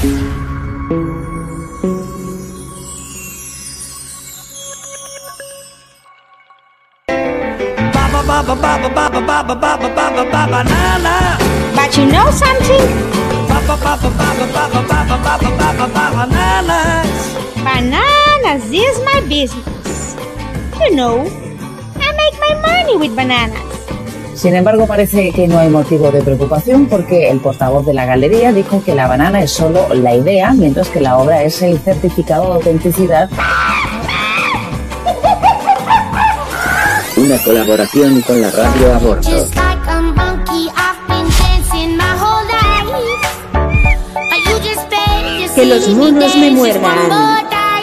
Banana. But you know something? Bananas. Bananas is my business. You know, I make my money with bananas. Sin embargo, parece que no hay motivo de preocupación porque el portavoz de la galería dijo que la banana es solo la idea, mientras que la obra es el certificado de autenticidad. Una colaboración con la radio Aborto. Que los monos me muerdan.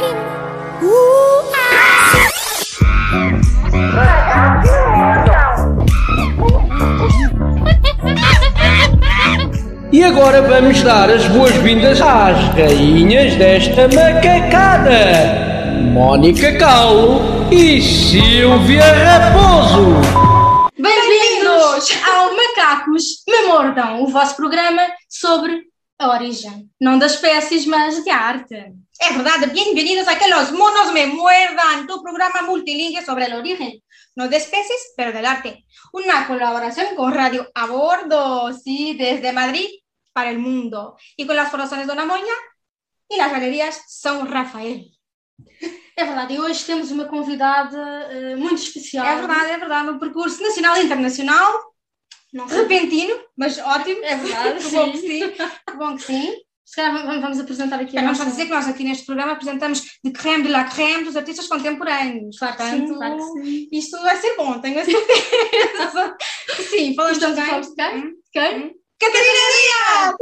E agora vamos dar as boas-vindas às rainhas desta macacada, Mónica Calo e Silvia Raposo. Bem-vindos ao Macacos Me Mordam, o vosso programa sobre a origem, não das espécies, mas de arte. É verdade, bem-vindos a Que los monos me muerdan, tu programa multilingüe sobre el origen, no de especies, pero del arte. Una colaboración con Radio Aborto, sí, desde Madrid para el mundo. Y con las fundaciones Dona Moña e las galerías São Rafael. É verdade, e hoje temos uma convidada muito especial. É verdade, um percurso nacional e internacional, repentino, mas ótimo. É verdade, que bom que sim. Que bom que sim. Se calhar vamos apresentar aqui Vamos dizer que nós aqui neste programa apresentamos de crème de la crème dos artistas contemporâneos. Claro que Portanto, sim, claro que sim. Isto vai ser bom, tenho a certeza. Sim, falamos de quem? Quem? Catarina Dias!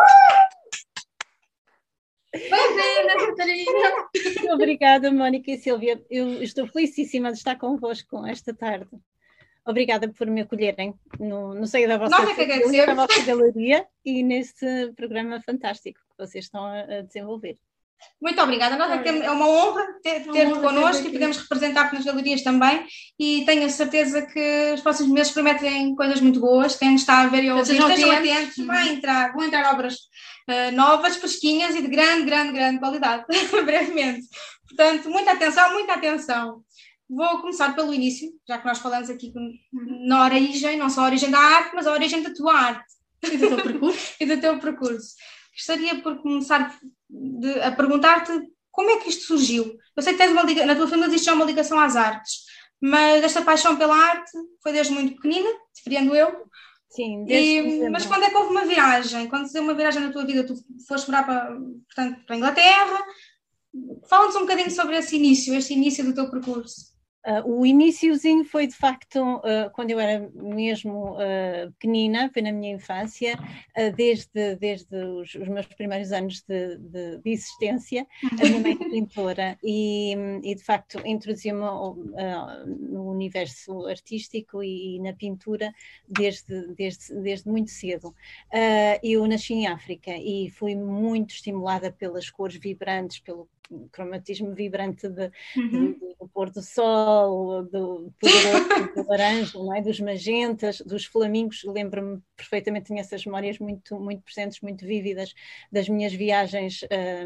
Bem-vinda, Catarina! Obrigada, Mónica e Silvia. Eu estou felicíssima de estar convosco esta tarde. Obrigada por me acolherem no seio da vossa galeria e neste programa fantástico que vocês estão a desenvolver. Muito obrigada, nós é uma honra ter-te connosco e podemos representar-te nas galerias também e tenho a certeza que os próximos meses prometem coisas muito boas, quem nos está a ver e a ouvir, estejam atentos, vão entrar obras novas, fresquinhas e de grande qualidade, brevemente. Portanto, muita atenção. Vou começar pelo início, já que nós falamos aqui na origem, não só a origem da arte, mas a origem da tua arte e do teu percurso. E do teu percurso. Gostaria por começar a perguntar-te como é que isto surgiu. Eu sei que tens na tua família existe já uma ligação às artes, mas esta paixão pela arte foi desde muito pequenina, compreendo eu. Sim, mas quando é que houve uma viragem? Quando se deu uma viragem na tua vida, tu foste morar para a Inglaterra? Fala-nos um bocadinho sobre este início do teu percurso. O iniciozinho foi de facto quando eu era mesmo pequenina, foi na minha infância, desde os meus primeiros anos de existência. A minha mãe é pintora e de facto introduziu-me no universo artístico e na pintura desde muito cedo. Eu nasci em África e fui muito estimulada pelas cores vibrantes, pelo cromatismo vibrante do pôr do sol, do poderoso do laranja, não é? Dos magentas, dos flamingos. Lembro-me perfeitamente, tinha essas memórias muito presentes, muito vívidas das minhas viagens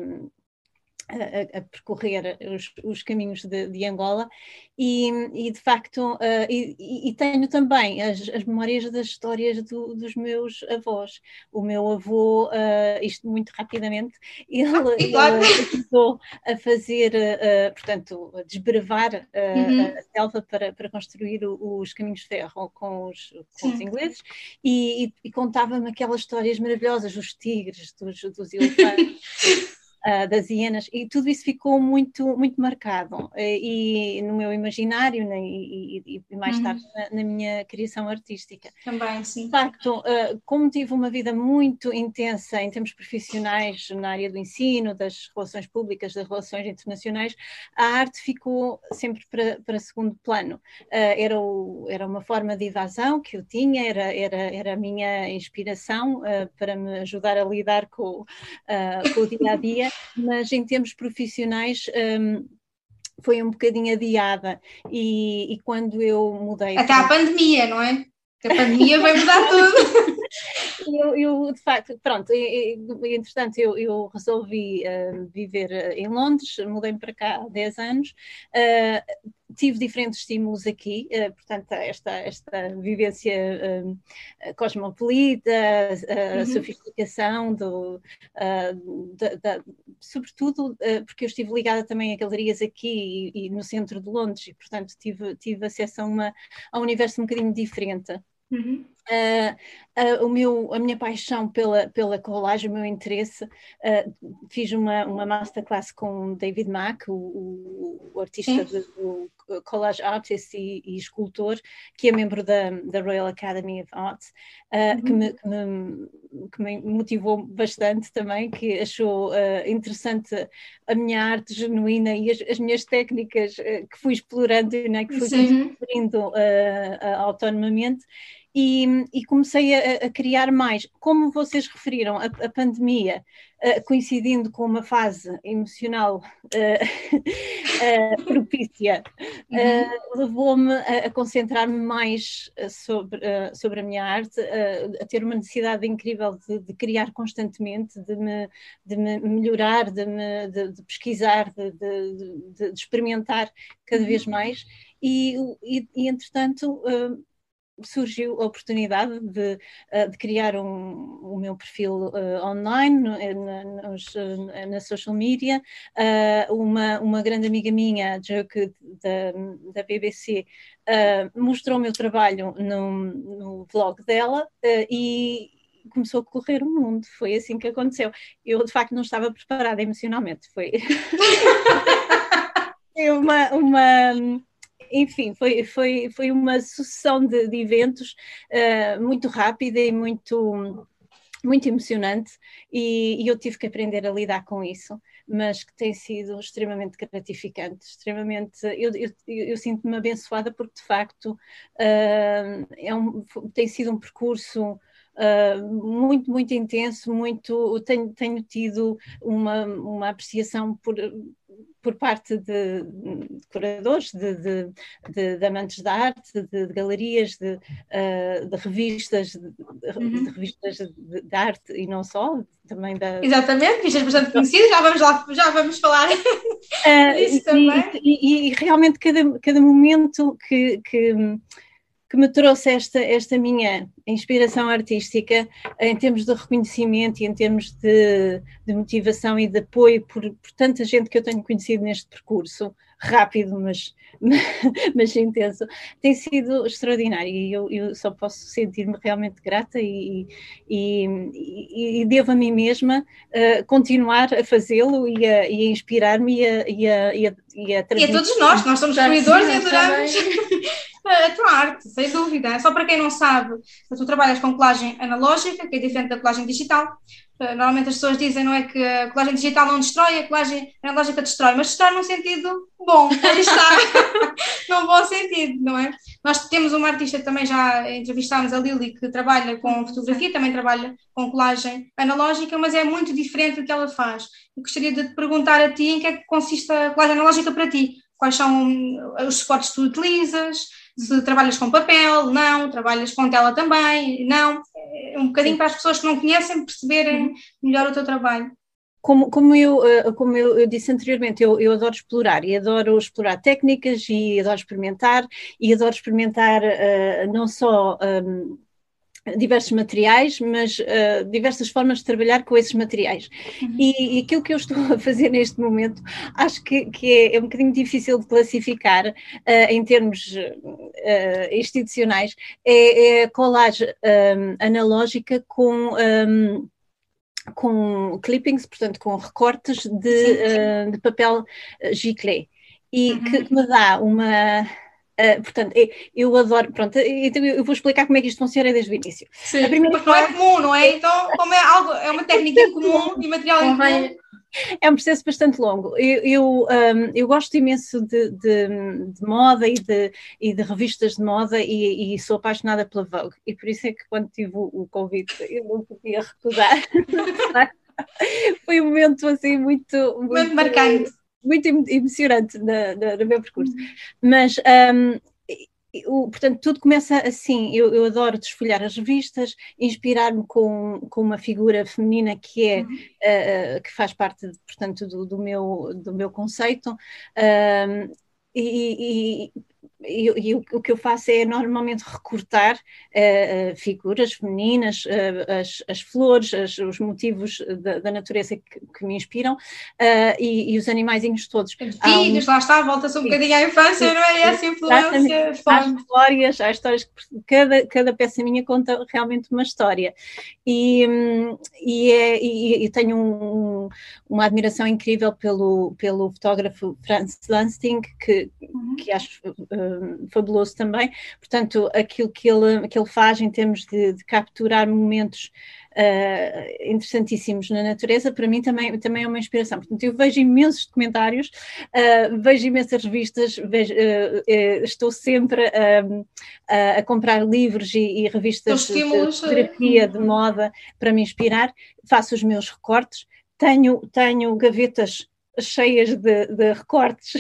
a percorrer os caminhos de Angola e de facto e tenho também as memórias das histórias dos meus avós. O meu avô, isto muito rapidamente, ele começou a fazer, portanto, a desbrevar a selva para construir os caminhos de ferro com os ingleses e contava-me aquelas histórias maravilhosas, dos tigres, dos elefantes, das hienas, e tudo isso ficou muito marcado e no meu imaginário, né, e mais tarde na minha criação artística. Também, sim. De facto, como tive uma vida muito intensa em termos profissionais na área do ensino, das relações públicas, das relações internacionais, a arte ficou sempre para segundo plano. Era uma forma de evasão que eu tinha, era a minha inspiração para me ajudar a lidar com o dia-a-dia, mas em termos profissionais foi um bocadinho adiada e quando eu mudei... Até a pandemia, não é? Porque a pandemia vai mudar tudo. eu de facto, pronto, entretanto eu resolvi viver em Londres, mudei-me para cá há 10 anos, tive diferentes estímulos aqui, portanto esta vivência cosmopolita, a sofisticação, sobretudo porque eu estive ligada também a galerias aqui e no centro de Londres e portanto tive acesso a um universo um bocadinho diferente. A minha paixão pela colagem, o meu interesse, fiz uma masterclass com David Mack, o artista do collage artist e escultor, que é membro da Royal Academy of Arts, que me motivou bastante também, que achou interessante a minha arte genuína e as minhas técnicas que fui explorando, né, que fui descobrindo autonomamente. E comecei a criar mais. Como vocês referiram, a pandemia, coincidindo com uma fase emocional propícia, levou-me a concentrar-me mais sobre a minha arte, a ter uma necessidade incrível de criar constantemente, de me melhorar, de pesquisar, de experimentar cada vez mais. E entretanto, surgiu a oportunidade de criar o meu perfil online, na social media. Uma grande amiga minha, a Joke, da BBC, mostrou o meu trabalho no blog dela e começou a correr o mundo. Foi assim que aconteceu. Eu, de facto, não estava preparada emocionalmente. Foi enfim, foi uma sucessão de eventos muito rápida e muito emocionante, e eu tive que aprender a lidar com isso, mas que tem sido extremamente gratificante, eu sinto-me abençoada porque de facto tem sido um percurso muito, muito intenso, tenho tido uma apreciação por parte de curadores, de amantes da arte, de galerias, de revistas, de revistas de arte e não só, também da... Exatamente, revistas bastante conhecidas, já vamos falar disso também. E realmente cada momento que me trouxe esta minha inspiração artística, em termos de reconhecimento e em termos de motivação e de apoio por tanta gente que eu tenho conhecido neste percurso, rápido, mas intenso, tem sido extraordinário, e eu só posso sentir-me realmente grata e devo a mim mesma continuar a fazê-lo e a inspirar-me e a transmitir. E a todos nós somos seguidores e adoramos a tua arte, sem dúvida. Só para quem não sabe, tu trabalhas com colagem analógica, que é diferente da colagem digital. Normalmente as pessoas dizem, não é, que a colagem digital não destrói, a colagem analógica destrói, mas destrói num sentido bom, aí está, num bom sentido, não é? Nós temos uma artista que também já entrevistámos, a Lili, que trabalha com fotografia, também trabalha com colagem analógica, mas é muito diferente do que ela faz. Eu gostaria de te perguntar a ti em que é que consiste a colagem analógica para ti? Quais são os suportes que tu utilizas? Se trabalhas com papel, não, trabalhas com tela também, não. Um bocadinho para as pessoas que não conhecem perceberem melhor o teu trabalho. Como eu disse anteriormente, eu adoro explorar, e adoro explorar técnicas, e adoro experimentar não só diversos materiais, mas diversas formas de trabalhar com esses materiais. E aquilo que eu estou a fazer neste momento, acho que é um bocadinho difícil de classificar em termos institucionais, é a colagem analógica com clippings, portanto com recortes de papel giclé, e que me dá uma... portanto, eu adoro, pronto, então eu vou explicar como é que isto funciona desde o início. Sim, porque não é comum, não é? Então, como é uma técnica incomum e material incomum. É um processo bastante longo. Eu gosto imenso de moda e de revistas de moda, e sou apaixonada pela Vogue, e por isso é que quando tive o convite eu não podia recusar. Foi um momento assim muito marcante, muito emocionante no meu percurso. Mas Portanto, tudo começa assim. Eu adoro desfolhar as revistas, inspirar-me com uma figura feminina que que faz parte, portanto, do meu conceito. O que eu faço é normalmente recortar figuras femininas, as flores, os motivos da natureza que me inspiram, e os animaizinhos todos. Filhos, lá está, volta-se um bocadinho à infância, não é? Essa influência. Há histórias que cada peça minha conta realmente uma história. E tenho uma admiração incrível pelo fotógrafo Franz Lustig, que acho fabuloso também. Portanto, aquilo que ele faz em termos de capturar momentos interessantíssimos na natureza, para mim também é uma inspiração. Portanto, eu vejo imensos documentários, vejo imensas revistas, estou sempre a comprar livros e revistas de fotografia, de moda, para me inspirar, faço os meus recortes, tenho gavetas cheias de recortes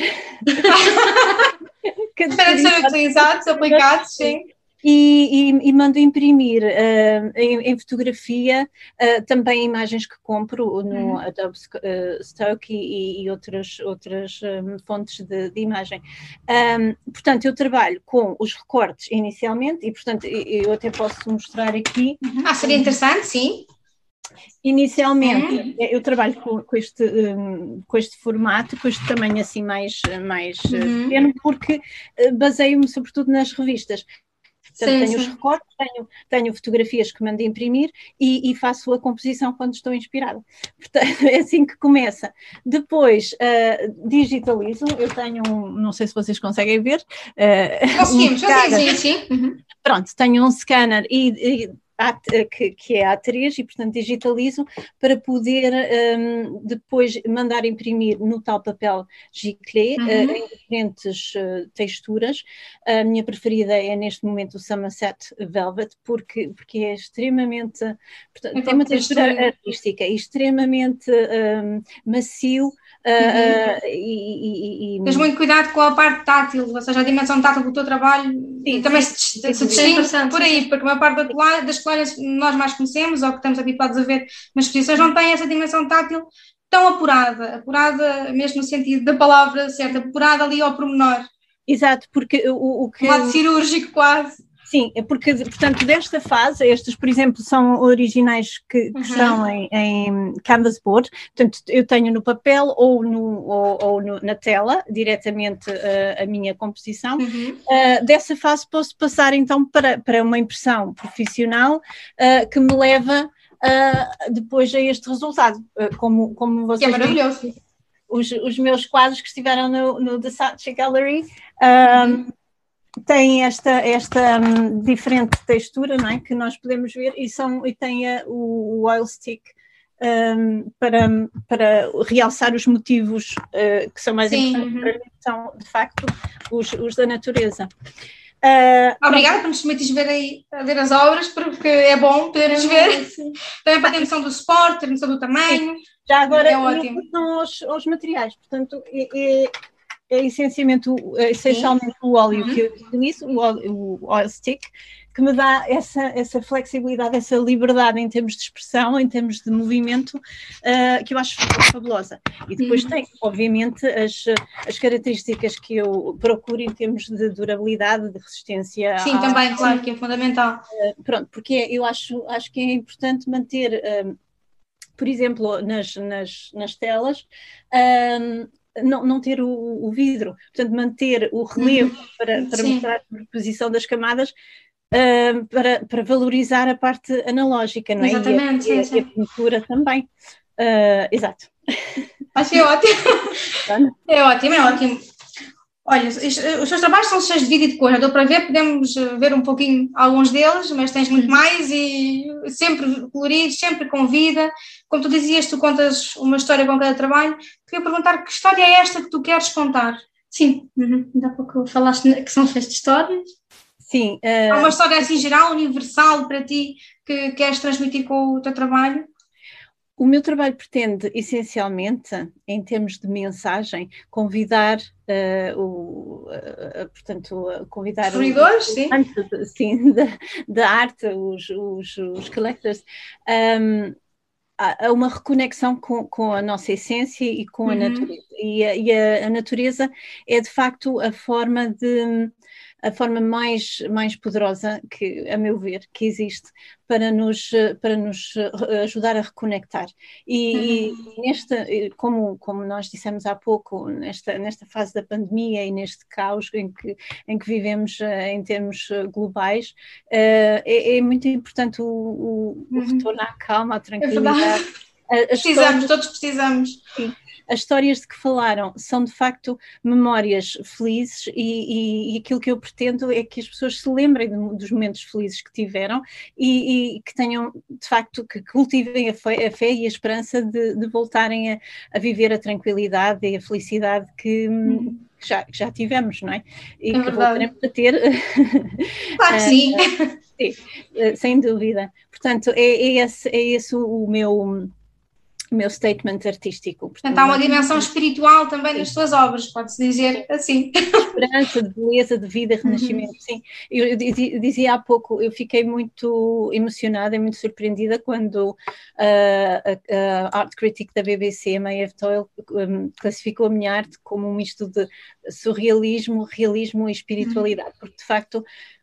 para serem utilizados, aplicados, sim. E mando imprimir em fotografia também imagens que compro no Adobe Stock e outras fontes de imagem. Portanto, eu trabalho com os recortes inicialmente e, portanto, eu até posso mostrar aqui. Seria interessante, sim. Inicialmente, eu trabalho com este formato, com este tamanho assim mais pequeno, porque baseio-me sobretudo nas revistas. Portanto, tenho os recortes, tenho fotografias que mando imprimir e faço a composição quando estou inspirada. Portanto, é assim que começa. Depois, digitalizo. Eu tenho não sei se vocês conseguem ver. Conseguimos, sim. Pronto, tenho um scanner que é A3 e, portanto, digitalizo para poder depois mandar imprimir no tal papel giclé em diferentes texturas. A minha preferida é, neste momento, o Somerset Velvet, porque é extremamente... Portanto, tem uma textura artística e extremamente macio. Tens muito cuidado com a parte tátil, ou seja, a dimensão tátil do teu trabalho também se distingue por aí, porque a maior parte das coleiras que nós mais conhecemos ou que estamos habituados a ver nas exposições não tem essa dimensão tátil tão apurada mesmo no sentido da palavra certa, apurada ali ao pormenor. Exato, porque o que... Um lado cirúrgico quase. Sim, porque, portanto, desta fase, estes, por exemplo, são originais que estão em canvas board, portanto, eu tenho no papel ou na tela, diretamente a minha composição. Dessa fase posso passar, então, para uma impressão profissional que me leva depois a este resultado, como vocês... Que é maravilhoso. Os meus quadros que estiveram no The Saatchi Gallery... tem esta diferente textura, não é? Que nós podemos ver e tem o oil stick para realçar os motivos que são mais importantes para mim, são de facto os da natureza. Obrigada por nos permitires ver as obras, porque é bom podermos ver. Também para ter noção do suporte, ter noção do tamanho. Já agora, é ótimo. São os materiais, portanto, é essencialmente o óleo que eu utilizo, o oil stick, que me dá essa flexibilidade, essa liberdade em termos de expressão, em termos de movimento, que eu acho fabulosa. E depois tem, obviamente, as características que eu procuro em termos de durabilidade, de resistência. Sim, também, claro, que é fundamental. Pronto, porque eu acho que é importante manter, por exemplo, nas telas, não ter o vidro, portanto manter o relevo para mostrar a superposição das camadas, para valorizar a parte analógica, não é? Exatamente, e a pintura também. Exato. Acho que é ótimo. É ótimo. Olha, os seus trabalhos são cheios de vida e de cor, deu para ver, podemos ver um pouquinho alguns deles, mas tens muito mais e sempre coloridos, sempre com vida. Como tu dizias, tu contas uma história com cada trabalho. Queria perguntar que história é esta que tu queres contar? Sim, ainda há pouco falaste que são feitas histórias. Sim. Há uma história assim geral, universal para ti, que queres transmitir com o teu trabalho? O meu trabalho pretende, essencialmente, em termos de mensagem, convidar convidar os seguidores, sim, da arte, os collectors, a uma reconexão com a nossa essência e com a natureza. E a natureza é, de facto, a forma mais poderosa que, a meu ver, que existe para nos ajudar a reconectar. E como nós dissemos há pouco, nesta fase da pandemia e neste caos em que vivemos em termos globais, é muito importante o retorno à calma, à tranquilidade. Todos precisamos. Sim. As histórias de que falaram são, de facto, memórias felizes e aquilo que eu pretendo é que as pessoas se lembrem dos momentos felizes que tiveram e que tenham, de facto, que cultivem a fé e a esperança de voltarem a viver a tranquilidade e a felicidade que já tivemos, não é? E que voltaremos a ter. Claro que sim. Sim, sem dúvida. Portanto, é esse o meu statement artístico. Portanto, há uma dimensão espiritual também nas suas obras, pode-se dizer assim. Esperança, de beleza, de vida, renascimento, sim. Eu dizia há pouco, eu fiquei muito emocionada e muito surpreendida quando a art critic da BBC, a Maeve Doyle, classificou a minha arte como um misto de surrealismo, realismo e espiritualidade, porque de facto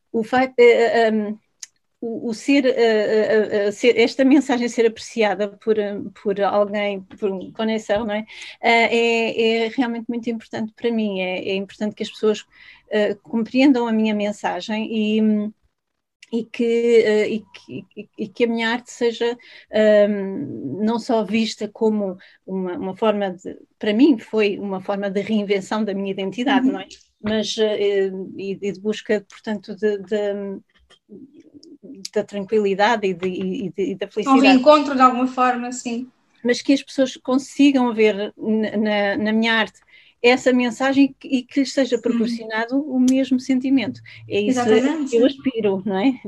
esta mensagem ser apreciada por alguém, por um conhecedor, não é? É realmente muito importante para mim. É importante que as pessoas compreendam a minha mensagem e que a minha arte seja não só vista como uma forma de, para mim foi uma forma de reinvenção da minha identidade, não é? Mas e de busca, portanto, da tranquilidade e da felicidade. Um reencontro de alguma forma, sim. Mas que as pessoas consigam ver na minha arte essa mensagem e que lhes seja proporcionado o mesmo sentimento. É isso que eu aspiro, não é?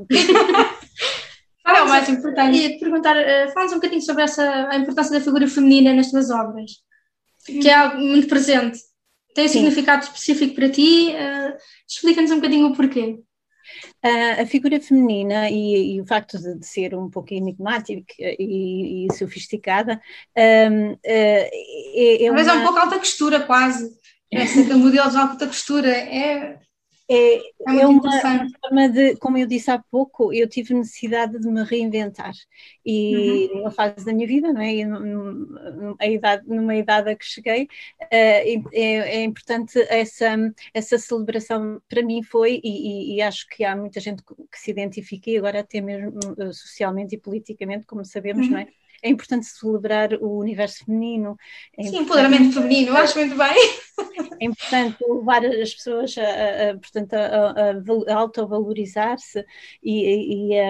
É o mais importante. Ia-te perguntar, fala-nos um bocadinho sobre a importância da figura feminina nas tuas obras, que é algo muito presente. Tem um significado específico para ti? Explica-nos um bocadinho o porquê. A figura feminina e o facto de ser um pouco enigmática e sofisticada talvez é um pouco alta costura quase, esse modelo de alta costura é uma forma de, como eu disse há pouco, eu tive necessidade de me reinventar e numa fase da minha vida, não é? E numa idade a que cheguei, é importante essa celebração para mim foi, e acho que há muita gente que se identifica e agora até mesmo socialmente e politicamente, como sabemos, não é? É importante celebrar o universo feminino. Sim, empoderamento feminino, acho muito bem. É importante levar as pessoas a autovalorizar-se e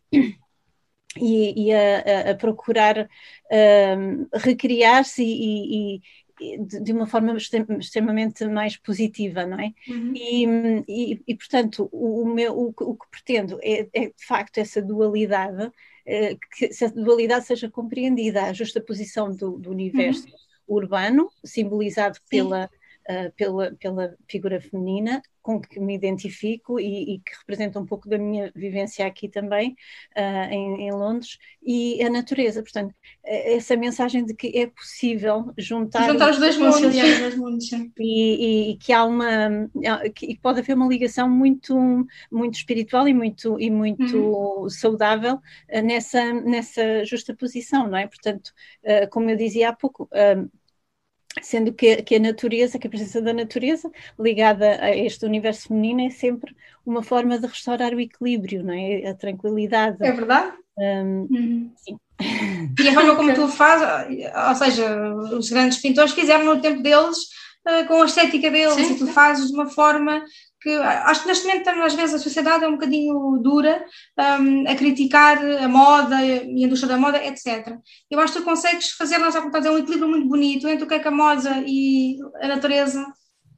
a procurar recriar-se e de uma forma extremamente mais positiva, não é? E portanto, o que pretendo é de facto essa dualidade, que essa dualidade seja compreendida, a justaposição do universo urbano, simbolizado pela figura feminina, com que me identifico e que representa um pouco da minha vivência aqui também, em Londres, e a natureza. Portanto, essa mensagem de que é possível juntar os dois mundos, e que há que pode haver uma ligação muito, muito espiritual e muito saudável nessa justaposição, não é? Portanto, como eu dizia há pouco, sendo que a natureza, que a presença da natureza ligada a este universo feminino é sempre uma forma de restaurar o equilíbrio, não é? A tranquilidade. É verdade? Sim. E a forma como tu fazes, ou seja, os grandes pintores fizeram no tempo deles, com a estética deles, e tu fazes de uma forma que acho que neste momento às vezes a sociedade é um bocadinho dura a criticar a moda e a indústria da moda, etc. Eu acho que tu consegues fazer, nós já contamos, um equilíbrio muito bonito entre o que é a moda e a natureza.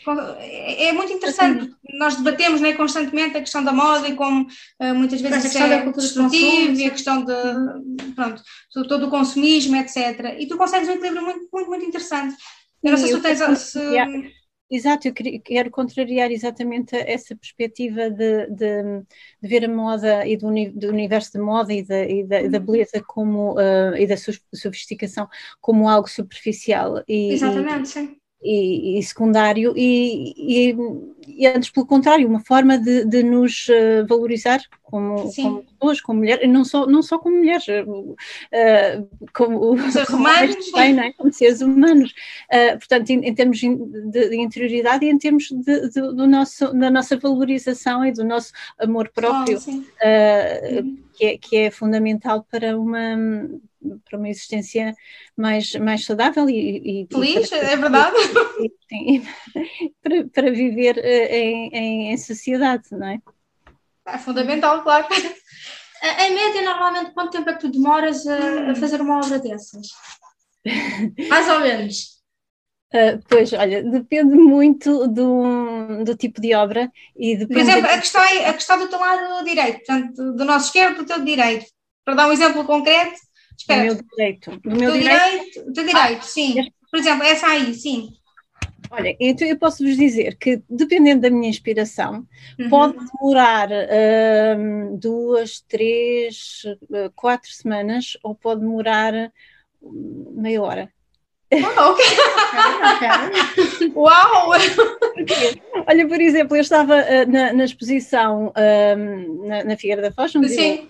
É muito interessante, nós debatemos, né, constantemente a questão da moda e como muitas vezes a questão da cultura desportiva e a questão de, pronto, todo o consumismo, etc. E tu consegues um equilíbrio muito, muito, muito interessante. Eu não sei se tu tens... Exato, eu quero contrariar exatamente essa perspectiva de ver a moda e do universo da moda e da beleza como, e da sofisticação como algo superficial exatamente, sim. E secundário e antes pelo contrário, uma forma de nos valorizar como pessoas, como mulheres, não só como mulheres, como seres humanos, não é? Como seres humanos. Portanto, em termos de interioridade e em termos da nossa valorização e do nosso amor próprio, que é fundamental para uma existência mais saudável e feliz, é verdade. Sim, para viver em sociedade, não é? É fundamental, claro. Em média, normalmente, quanto tempo é que tu demoras a fazer uma obra dessas? Mais ou menos. Pois, olha, depende muito do tipo de obra e depende... Por exemplo, a questão do teu lado direito, portanto, do nosso esquerdo para o teu direito. Para dar um exemplo concreto, espera. O meu direito. O teu direito, sim. Por exemplo, essa aí, sim. Olha, então eu posso vos dizer que, dependendo da minha inspiração, pode demorar 2, 3, 4 semanas ou pode demorar meia hora. Ok. Uau! Olha, por exemplo, eu estava na exposição na Figueira da Foz, onde eu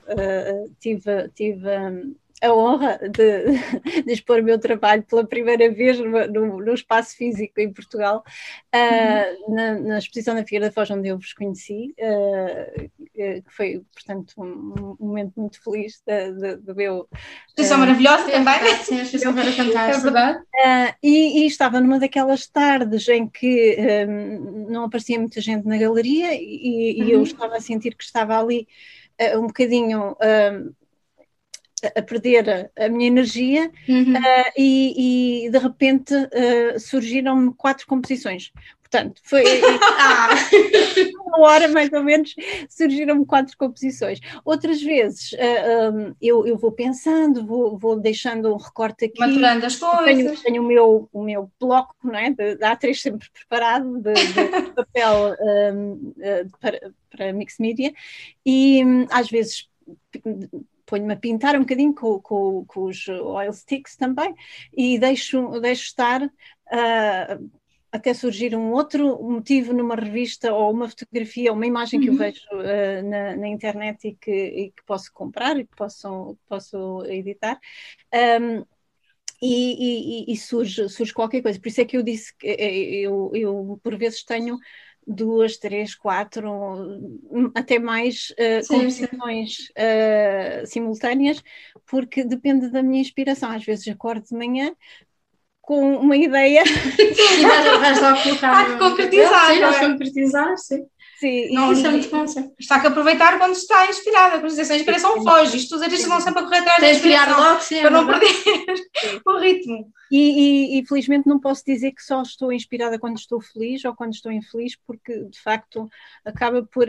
tive a honra de expor o meu trabalho pela primeira vez no espaço físico em Portugal, na exposição da Figueira da Foz, onde eu vos conheci, que foi, portanto, um momento muito feliz do meu... Exposição maravilhosa também. Sim, a exposição era fantástica. É verdade. E estava numa daquelas tardes em que não aparecia muita gente na galeria e eu estava a sentir que estava ali um bocadinho... a perder a minha energia e de repente surgiram-me 4 composições. Portanto, foi uma hora mais ou menos, surgiram-me 4 composições. Outras vezes eu vou pensando, vou deixando um recorte aqui. Maturando as coisas. Tenho o meu bloco, não é? De A3 sempre preparado, de papel para mix media, e às vezes ponho-me a pintar um bocadinho com os oil sticks também e deixo estar até surgir um outro motivo numa revista ou uma fotografia ou uma imagem que eu vejo na internet e que posso comprar e que posso editar. E surge qualquer coisa. Por isso é que eu disse que eu por vezes tenho 2, 3, 4, até mais composições simultâneas, porque depende da minha inspiração. Às vezes acordo de manhã com uma ideia e vais lá colocar. Concretizar, sim. Sim, não, isso é muito bom. Está que aproveitar quando está inspirada, por exemplo, a inspiração foge, os artistas vão sempre a correr atrás da inspiração logo, sim, para não perder o ritmo. E felizmente não posso dizer que só estou inspirada quando estou feliz ou quando estou infeliz, porque de facto acaba por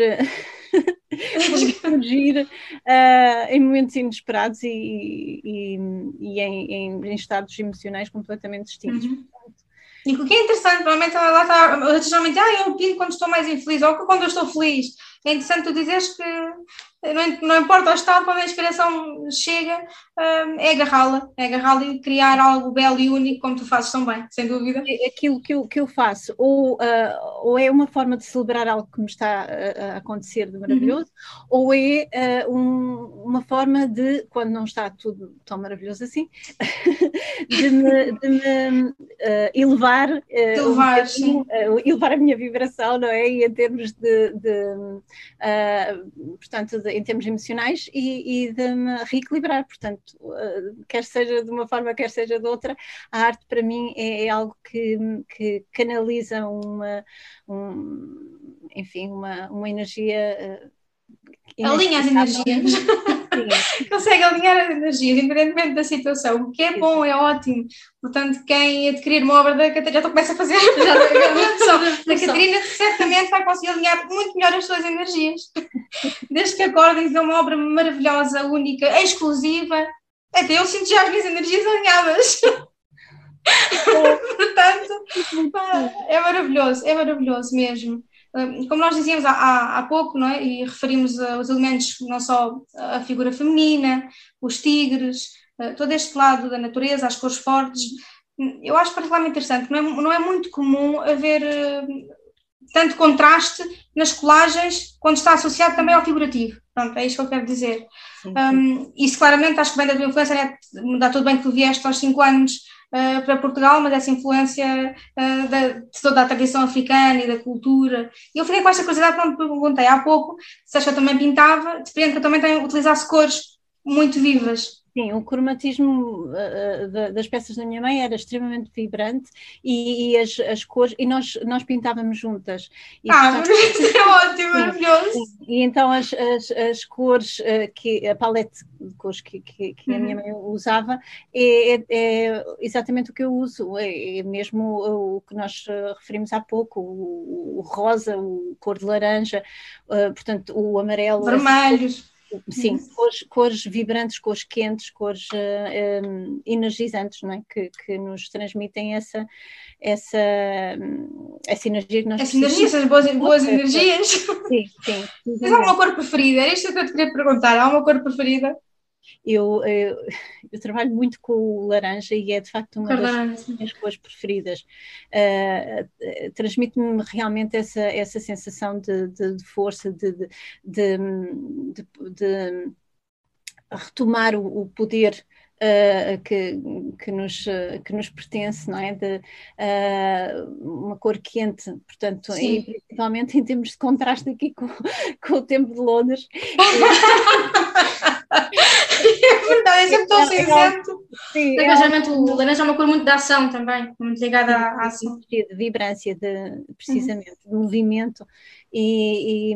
surgir em momentos inesperados e em estados emocionais completamente distintos. E o que é interessante, provavelmente lá está, geralmente, eu pinto quando estou mais infeliz ou quando eu estou feliz. É interessante tu dizeres que não importa o estado, quando a inspiração chega, é agarrá-la e criar algo belo e único, como tu fazes tão bem, sem dúvida. Aquilo que eu faço, ou é uma forma de celebrar algo que me está a acontecer de maravilhoso, ou é uma forma de, quando não está tudo tão maravilhoso assim, de me elevar a minha vibração, não é? E em termos portanto, em termos emocionais e de me reequilibrar, portanto, quer seja de uma forma, quer seja de outra, a arte para mim é algo que canaliza uma energia. Alinha as energias. consegue alinhar as energias, independentemente da situação, o que é bom, é ótimo. Portanto, quem adquirir uma obra da Catarina, já começa a fazer da Catarina, certamente vai conseguir alinhar muito melhor as suas energias. Desde que acordem, é uma obra maravilhosa, única, exclusiva. Até eu sinto já as minhas energias alinhadas. Portanto, é maravilhoso mesmo. Como nós dizíamos há pouco, não é? E referimos os elementos, não só a figura feminina, os tigres, todo este lado da natureza, as cores fortes, eu acho particularmente interessante. Não é muito comum haver tanto contraste nas colagens quando está associado também ao figurativo. Pronto, é isto que eu quero dizer. Isso claramente acho que vem da tua influência, né? Dá tudo bem que tu vieste aos 5 anos para Portugal, mas essa influência de toda a tradição africana e da cultura. E eu fiquei com esta curiosidade quando me perguntei há pouco se acho que eu também pintava, depende que eu também utilizasse cores muito vivas. Sim, o cromatismo das peças da minha mãe era extremamente vibrante e as cores, e nós pintávamos juntas. E, portanto, é ótimo, maravilhoso. E então as cores, a palete de cores que a minha mãe usava é exatamente o que eu uso, é mesmo o que nós referimos há pouco, o rosa, o cor de laranja, portanto o amarelo. Vermelhos. Sim, cores vibrantes, cores quentes, cores energizantes, não é? Que nos transmitem essa energia que nós precisamos. Essas boas energias. Sim. Tens alguma cor preferida? Era isto que eu te queria perguntar. Há uma cor preferida? Eu trabalho muito com o laranja e é de facto uma das minhas cores preferidas. Transmite-me realmente essa sensação de força, de retomar o poder que nos pertence, não é? Uma cor quente, portanto, e principalmente em termos de contraste aqui com o tempo de Londres. É verdade, é sempre tão cinzento. O laranja é uma cor muito de ação também, muito ligada à ação. De vibrância, precisamente, de movimento, e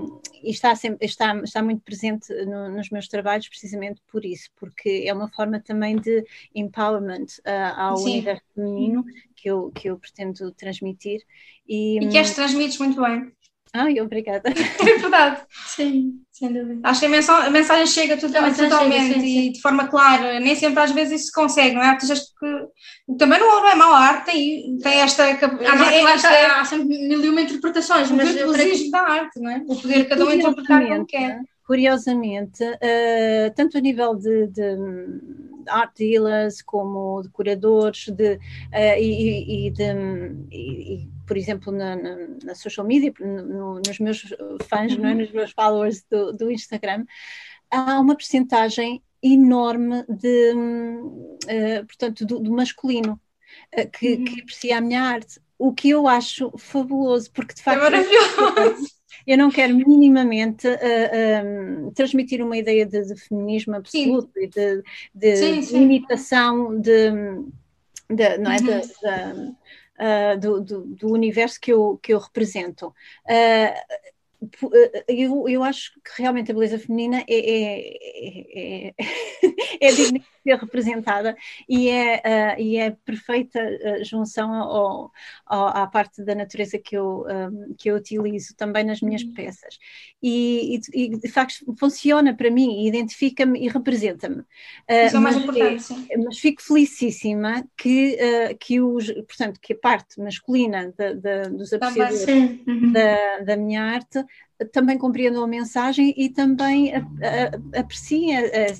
está muito presente nos meus trabalhos precisamente por isso, porque é uma forma também de empowerment ao universo feminino que eu pretendo transmitir. E que as transmites muito bem. Obrigada. É verdade. Sim, sem dúvida. Acho que a mensagem chega totalmente e de forma clara. Nem sempre às vezes isso se consegue, não é? Que também não é mau, a arte tem esta... Há sempre mil e uma interpretações, mas eu creio que da arte, não é? O poder cada um interpretar como quer. Curiosamente, tanto a nível de art dealers como decoradores por exemplo, na social media, nos meus fãs, não é? Nos meus followers do Instagram, há uma percentagem enorme portanto, do masculino que aprecia a minha arte, o que eu acho fabuloso, porque de facto é maravilhoso. Eu não quero minimamente transmitir uma ideia de feminismo absoluto e de limitação não é, do universo que eu represento. Eu acho que realmente a beleza feminina é digna de ser representada e é perfeita junção à parte da natureza que eu utilizo também nas minhas peças e de facto funciona para mim, identifica-me e representa-me. Isso é o mais importante, sim. Mas fico felicíssima que a parte masculina dos apreciadores da minha arte também compreendam a mensagem e também apreciem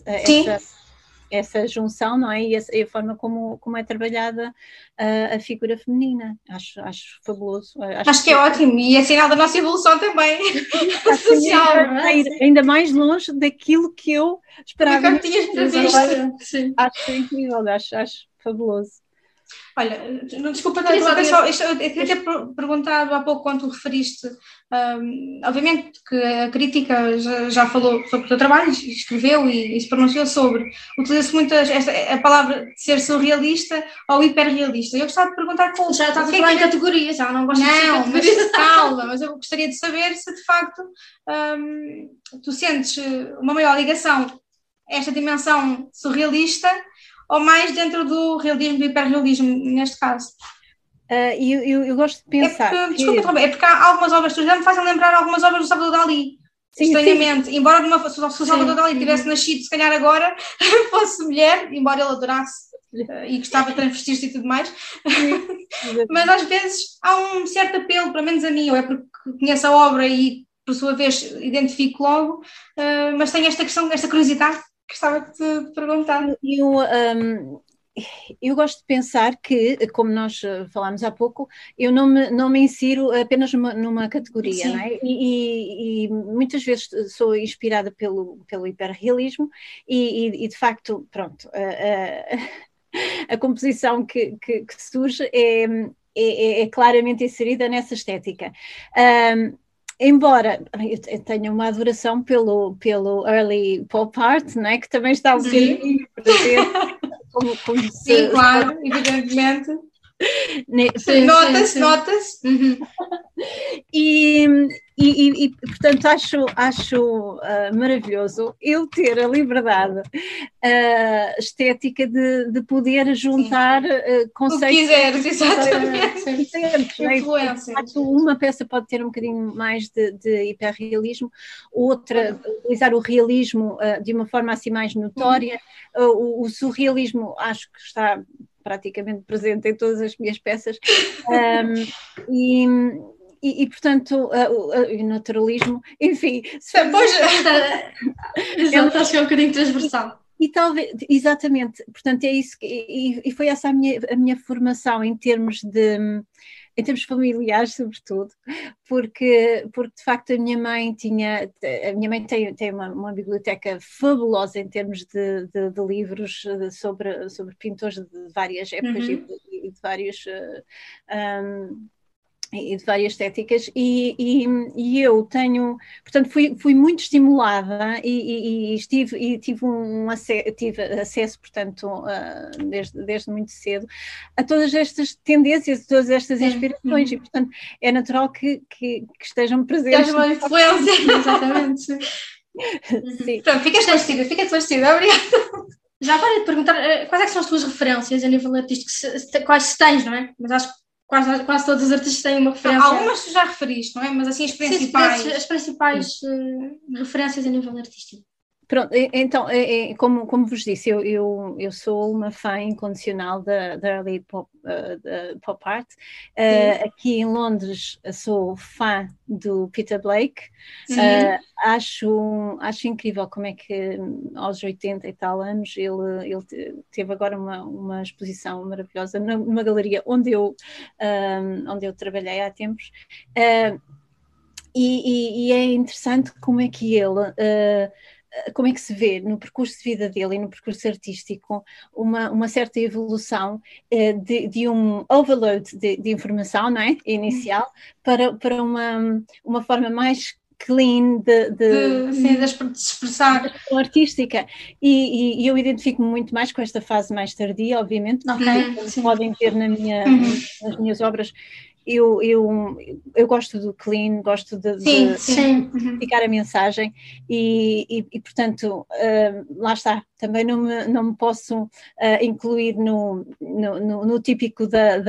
essa junção, não é? E a forma como é trabalhada a figura feminina. Acho fabuloso. Acho que é ótimo e é sinal da nossa evolução também social. Ainda mais longe daquilo que eu esperava. Acho incrível, acho fabuloso. Olha, desculpa, eu queria ter perguntado há pouco quando tu referiste, obviamente que a crítica já falou sobre o teu trabalho, escreveu e se pronunciou sobre, utiliza-se muito a palavra de ser surrealista ou hiperrealista. Eu gostava de perguntar como... Já estás a falar em categorias, já não gosto de categorias. Mas calma, mas eu gostaria de saber se de facto tu sentes uma maior ligação esta dimensão surrealista ou mais dentro do realismo, do hiperrealismo, neste caso? Eu gosto de pensar. Desculpa, é porque há algumas obras que já me fazem lembrar algumas obras do Salvador Dalí. Estranhamente, embora se o Salvador Dalí tivesse nascido, se calhar agora fosse mulher, embora ele adorasse e gostava de transvestir-se e tudo mais, mas às vezes há um certo apelo, pelo menos a mim, ou é porque conheço a obra e por sua vez identifico logo, mas tenho esta questão, esta curiosidade que gostava de te perguntar. Eu gosto de pensar que, como nós falámos há pouco, eu não me insiro apenas numa categoria, não é? E muitas vezes sou inspirada pelo hiperrealismo e de facto, pronto, a composição que surge é claramente inserida nessa estética. Embora eu tenha uma adoração pelo early pop art, não é? Que também está um bocadinho presente. Sim, claro, evidentemente. Nota-se. E portanto acho maravilhoso eu ter a liberdade estética de poder juntar conceitos. O que quiseres, exatamente. Influência. Uma peça pode ter um bocadinho mais de hiperrealismo, outra utilizar o realismo de uma forma assim mais notória. O surrealismo acho que está praticamente presente em todas as minhas peças. E portanto, o naturalismo, enfim. Acho que é um bocadinho transversal. E talvez, exatamente, portanto é isso, e foi essa a minha formação em termos familiares, sobretudo, porque de facto a minha mãe tem uma biblioteca fabulosa em termos de livros sobre pintores de várias épocas e de vários... e de várias estéticas e eu tenho, portanto fui muito estimulada e tive acesso, portanto, desde muito cedo a todas estas tendências, a todas estas inspirações e, portanto, é natural que estejam presentes. Tens uma influência, exatamente. Sim. Pronto, fica esclarecida, obrigada. Já agora de perguntar, quais é que são as tuas referências a nível artístico? Quais se tens, não é? Mas acho que quase todos os artistas têm uma referência. Algumas tu já referiste, não é? Mas assim as principais. Sim, as principais referências a nível artístico. Pronto, então, como vos disse, eu sou uma fã incondicional da early pop art. Aqui em Londres sou fã do Peter Blake. Acho incrível como é que aos 80 e tal anos ele teve agora uma exposição maravilhosa numa galeria onde eu trabalhei há tempos. E é interessante como é que como é que se vê no percurso de vida dele e no percurso artístico uma certa evolução de um overload de informação, não é? Inicial para uma forma mais clean de expressar artística e eu identifico-me muito mais com esta fase mais tardia, obviamente, porque podem ter nas minhas obras. Eu gosto do clean, gosto de ficar a mensagem e portanto, lá está, também não me posso incluir no típico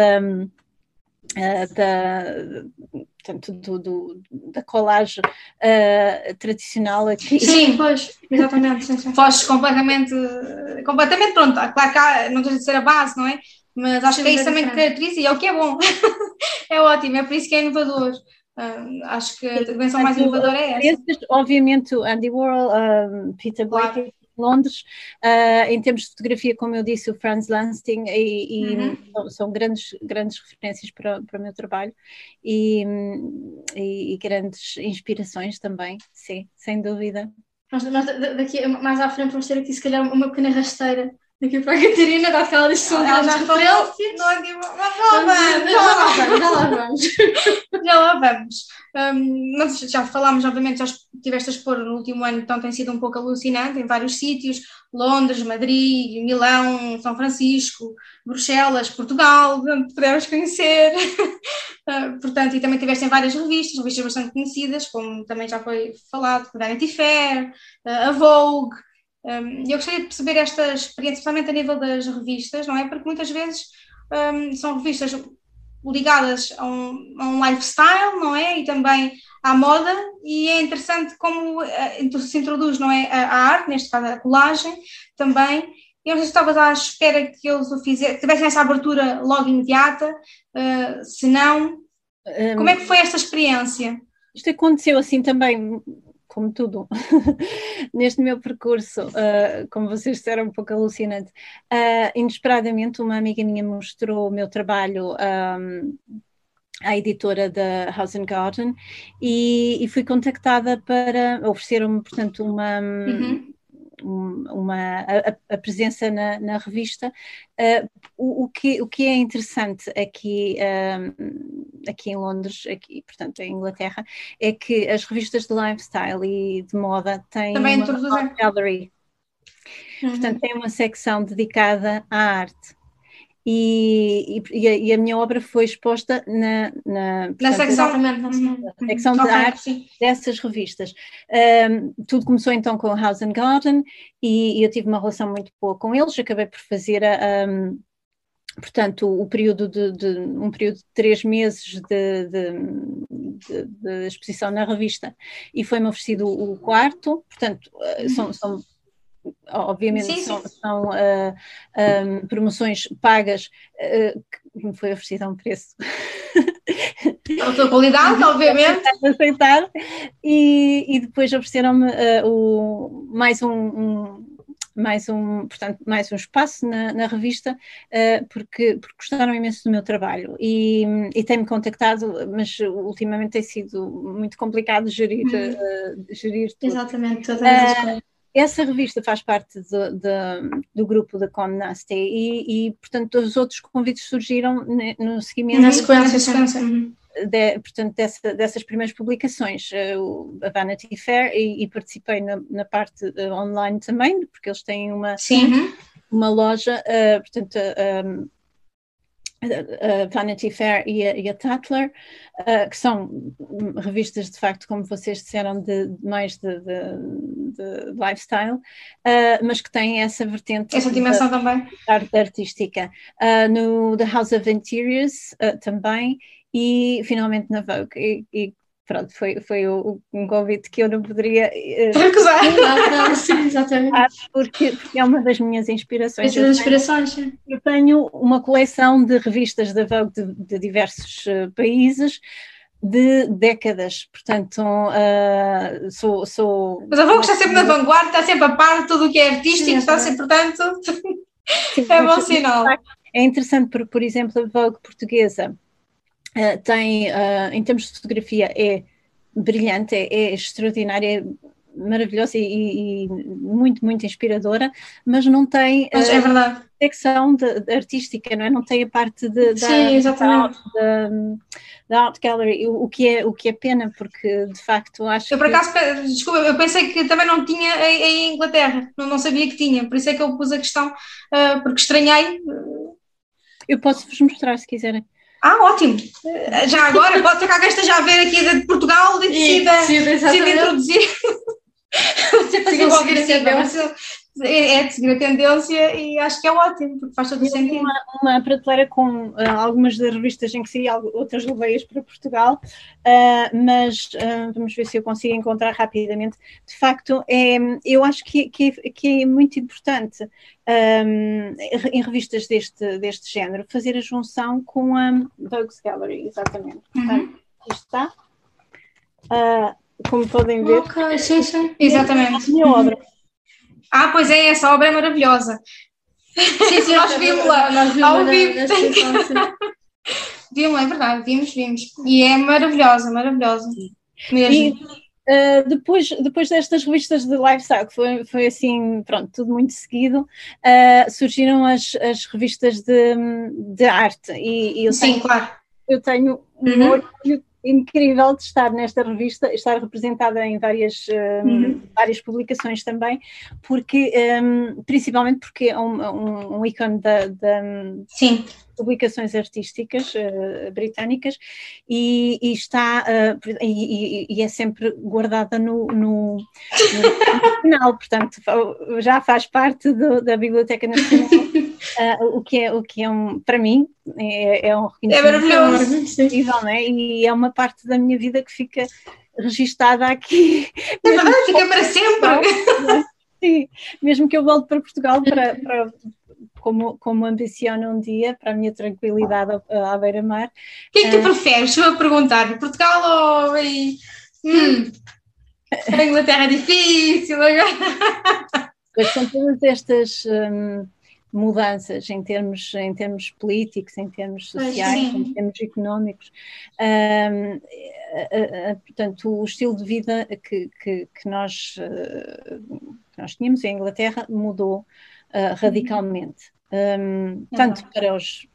da colagem tradicional aqui. Sim, pois, exatamente. Foges completamente pronto, claro que não tens de ser a base, não é? Mas acho que é isso também que caracteriza e é o que é bom. É ótimo, é por isso que é inovador. Acho que a dimensão mais inovadora é essa. Obviamente, Andy Warhol, Peter Blake, claro. Londres, em termos de fotografia, como eu disse, o Franz Lansting são grandes referências para o meu trabalho e grandes inspirações também, sim, sem dúvida. Mas daqui mais à frente vamos ter aqui se calhar uma pequena rasteira daqui para a Catarina, dado que ela disse que são grandes referências. Já lá vamos. Nós já falámos, obviamente, já estiveste a expor no último ano, então tem sido um pouco alucinante em vários sítios, Londres, Madrid, Milão, São Francisco, Bruxelas, Portugal, podemos conhecer. Portanto, e também estiveste em várias revistas bastante conhecidas, como também já foi falado, Vanity Fair, a Vogue. Eu gostaria de perceber esta experiência, principalmente a nível das revistas, não é? Porque muitas vezes são revistas ligadas a um lifestyle, não é? E também à moda, e é interessante como se introduz, não é? A arte, neste caso a colagem, também. Eu não sei se estavas à espera que eles o fizessem, que tivessem essa abertura logo imediata, se não. Como é que foi esta experiência? Isto aconteceu assim também, como tudo, neste meu percurso, como vocês disseram, um pouco alucinante. Inesperadamente, uma amiga minha mostrou o meu trabalho à editora da House and Garden e fui contactada para oferecer-me, portanto, a presença na revista. O que é interessante aqui em Londres, portanto em Inglaterra, é que as revistas de lifestyle e de moda têm também uma art gallery. Portanto, tem uma secção dedicada à arte. E a minha obra foi exposta na secção de arte dessas revistas. Tudo começou então com a House and Garden e eu tive uma relação muito boa com eles. Acabei por fazer portanto, um período de 3 meses de exposição na revista, e foi-me oferecido o quarto. Portanto, obviamente são promoções pagas que me foi oferecida a um preço a tua qualidade, obviamente, aceitar, e depois ofereceram-me mais um espaço na revista, porque gostaram imenso do meu trabalho e têm-me contactado, mas ultimamente tem sido muito complicado gerir tudo. Exatamente, todas as coisas. Essa revista faz parte do grupo da Condé Nast e, portanto, os outros convites surgiram no seguimento. Na sequência. Portanto, dessas primeiras publicações, a Vanity Fair, e participei na parte online também, porque eles têm uma loja, portanto, a Vanity Fair e a Tatler, que são revistas de facto, como vocês disseram, mais de lifestyle, mas que têm essa vertente, essa dimensão também artística. No The House of Interiors também, e finalmente na Vogue, e pronto, foi um convite que eu não poderia recusar. Sim, exatamente. Porque é uma das minhas inspirações. Eu tenho uma coleção de revistas da Vogue de diversos países, de décadas, portanto sou... Mas a Vogue está sempre na vanguarda, está sempre a par de tudo o que é artístico, está sempre, portanto, é bom sinal. É interessante, porque, por exemplo, a Vogue portuguesa tem, em termos de fotografia, é brilhante, é extraordinária, é maravilhosa e muito, muito inspiradora, mas não tem a secção artística, não é? Não tem a parte da Art Gallery, o que é pena, porque de facto acho eu por acaso, desculpa, eu pensei que também não tinha em Inglaterra, não sabia que tinha, por isso é que eu pus a questão, porque estranhei. Eu posso-vos mostrar se quiserem. Ótimo! Já agora, pode ser que alguém esteja a ver aqui de Portugal e decida introduzir. É de seguir a tendência, e acho que é ótimo, porque faz todo o sentido. Uma prateleira com algumas das revistas em que saí, outras levei-as para Portugal, mas vamos ver se eu consigo encontrar rapidamente. De facto, eu acho que é muito importante em revistas deste género fazer a junção com a Vogue's Gallery, exatamente. Portanto, isto está, como podem ver. Ok, sim, exatamente. A minha obra. Pois é, essa obra é maravilhosa. Sim, nós vimos-la ao vivo. Vimos-la, é verdade, vimos. E é maravilhosa mesmo. E depois destas revistas de lifestyle, que foi assim, pronto, tudo muito seguido, surgiram as revistas de arte. E eu sim, claro. Eu tenho um orgulho incrível de estar nesta revista, estar representada em várias publicações também, porque, principalmente porque é um ícone Sim. publicações artísticas britânicas e está e é sempre guardada no final, portanto já faz parte da Biblioteca Nacional, o que é para mim é um reconhecimento incrível, né? E é uma parte da minha vida que fica registada aqui. É verdade, fica para sempre. Sim, mesmo que eu volte para Portugal para como ambiciono um dia, para a minha tranquilidade à beira-mar. O que é que tu preferes? Vou perguntar, Portugal ou a Inglaterra é difícil agora? Pois com todas estas mudanças em termos políticos, em termos sociais, em termos económicos, portanto o estilo de vida que nós tínhamos em Inglaterra mudou radicalmente, tanto para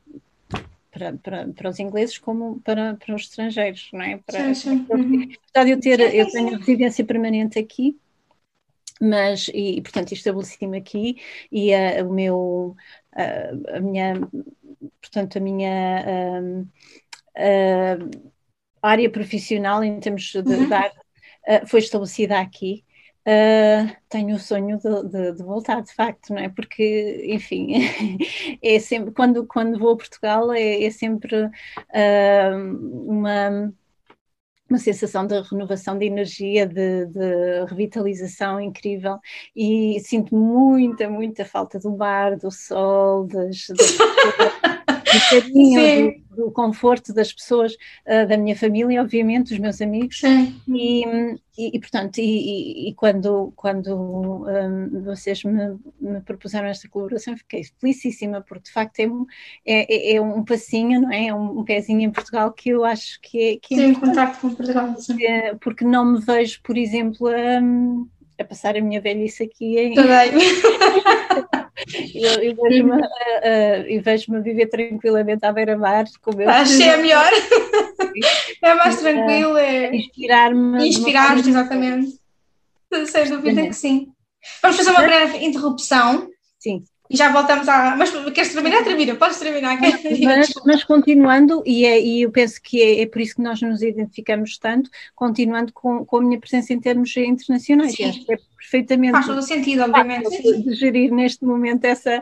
os ingleses como para os estrangeiros, não é? Apesar de eu tenho residência permanente aqui, mas, portanto, estabeleci-me aqui e a minha área profissional em termos de arte foi estabelecida aqui. Tenho o sonho de voltar, de facto, não é? Porque, enfim, é sempre, quando vou a Portugal é sempre uma sensação de renovação de energia, de revitalização incrível, e sinto muita falta do bar, do sol, do carinho, do conforto das pessoas, da minha família, obviamente, dos meus amigos. Portanto, quando vocês me propuseram esta colaboração, fiquei felicíssima, porque de facto é um passinho, não é? É um pezinho em Portugal que eu acho que é em contacto com Portugal, porque não me vejo, por exemplo, a passar a minha velhice aqui e vejo-me viver tranquilamente à beira-mar. Acho que é melhor. É mais tranquilo, inspirar-me, exatamente. Sem dúvida que sim. Vamos fazer uma breve interrupção. Sim. E já voltamos Mas queres terminar? Termina, podes terminar. Mas continuando, e eu penso que é por isso que nós nos identificamos tanto, continuando com a minha presença em termos internacionais. Acho que é perfeitamente. Faz todo o sentido, obviamente. De gerir neste momento essa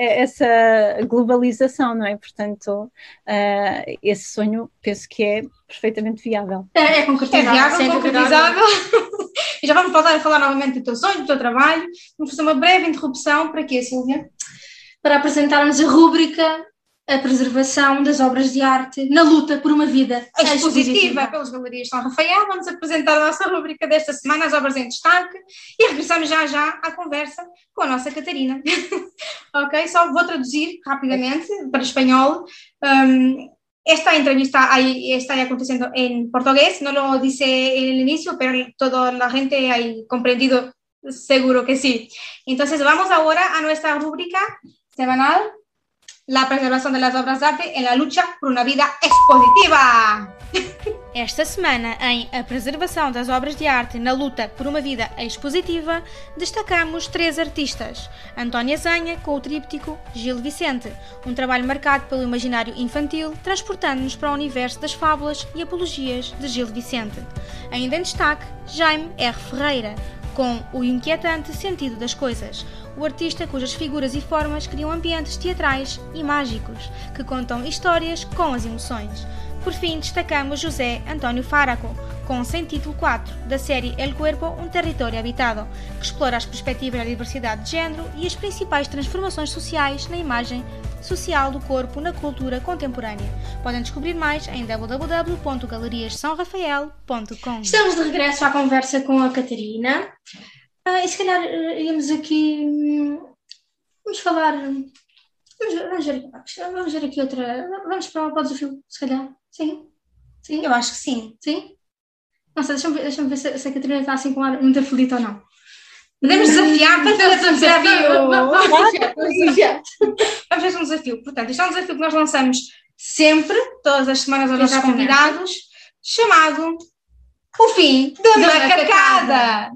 globalização, não é? Portanto, esse sonho penso que é perfeitamente viável. É concretizável. E já vamos voltar a falar novamente do teu sonho, do teu trabalho. Vamos fazer uma breve interrupção. Para quê, Sílvia? Para apresentarmos a rúbrica A Preservação das Obras de Arte na Luta por uma Vida Expositiva pelas Galerias São Rafael. Vamos apresentar a nossa rúbrica desta semana, As Obras em Destaque, e regressamos já à conversa com a nossa Catarina. Ok? Só vou traduzir rapidamente para espanhol. Esta entrevista está aconteciendo en portugués, no lo dice en el inicio, pero toda la gente ha comprendido, seguro que sí. Entonces vamos ahora a nuestra rúbrica semanal, la preservación de las obras de arte en la lucha por una vida expositiva. Esta semana, em A Preservação das Obras de Arte na Luta por uma Vida Expositiva, destacamos 3 artistas. Antónia Zanha, com o tríptico Gil Vicente, um trabalho marcado pelo imaginário infantil, transportando-nos para o universo das fábulas e apologias de Gil Vicente. Ainda em destaque, Jaime R. Ferreira, com o inquietante sentido das coisas, o artista cujas figuras e formas criam ambientes teatrais e mágicos, que contam histórias com as emoções. Por fim, destacamos José António Faraco, com Sem Título 4, da série El Cuerpo, um território habitado, que explora as perspectivas da diversidade de género e as principais transformações sociais na imagem social do corpo na cultura contemporânea. Podem descobrir mais em www.galeriassaorafael.com. Estamos de regresso à conversa com a Catarina. E se calhar íamos aqui... Vamos falar... Vamos ver aqui outra... Vamos para o desafio, se calhar. Sim? Eu acho que sim. Sim? Não sei, deixa-me ver se a Catarina está assim com ar muito aflita ou não. Podemos desafiar, vamos fazer um desafio. Vamos fazer um desafio. Portanto, isto é um desafio que nós lançamos sempre, todas as semanas, aos nossos convidados. chamado O Fim da Macacada.